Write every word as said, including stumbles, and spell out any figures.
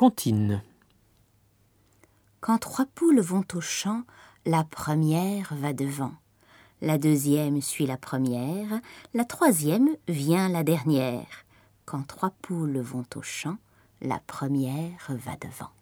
comptine. Quand trois poules vont au champ, la première va devant. La deuxième suit la première, la troisième vient la dernière. Quand trois poules vont au champ, la première va devant.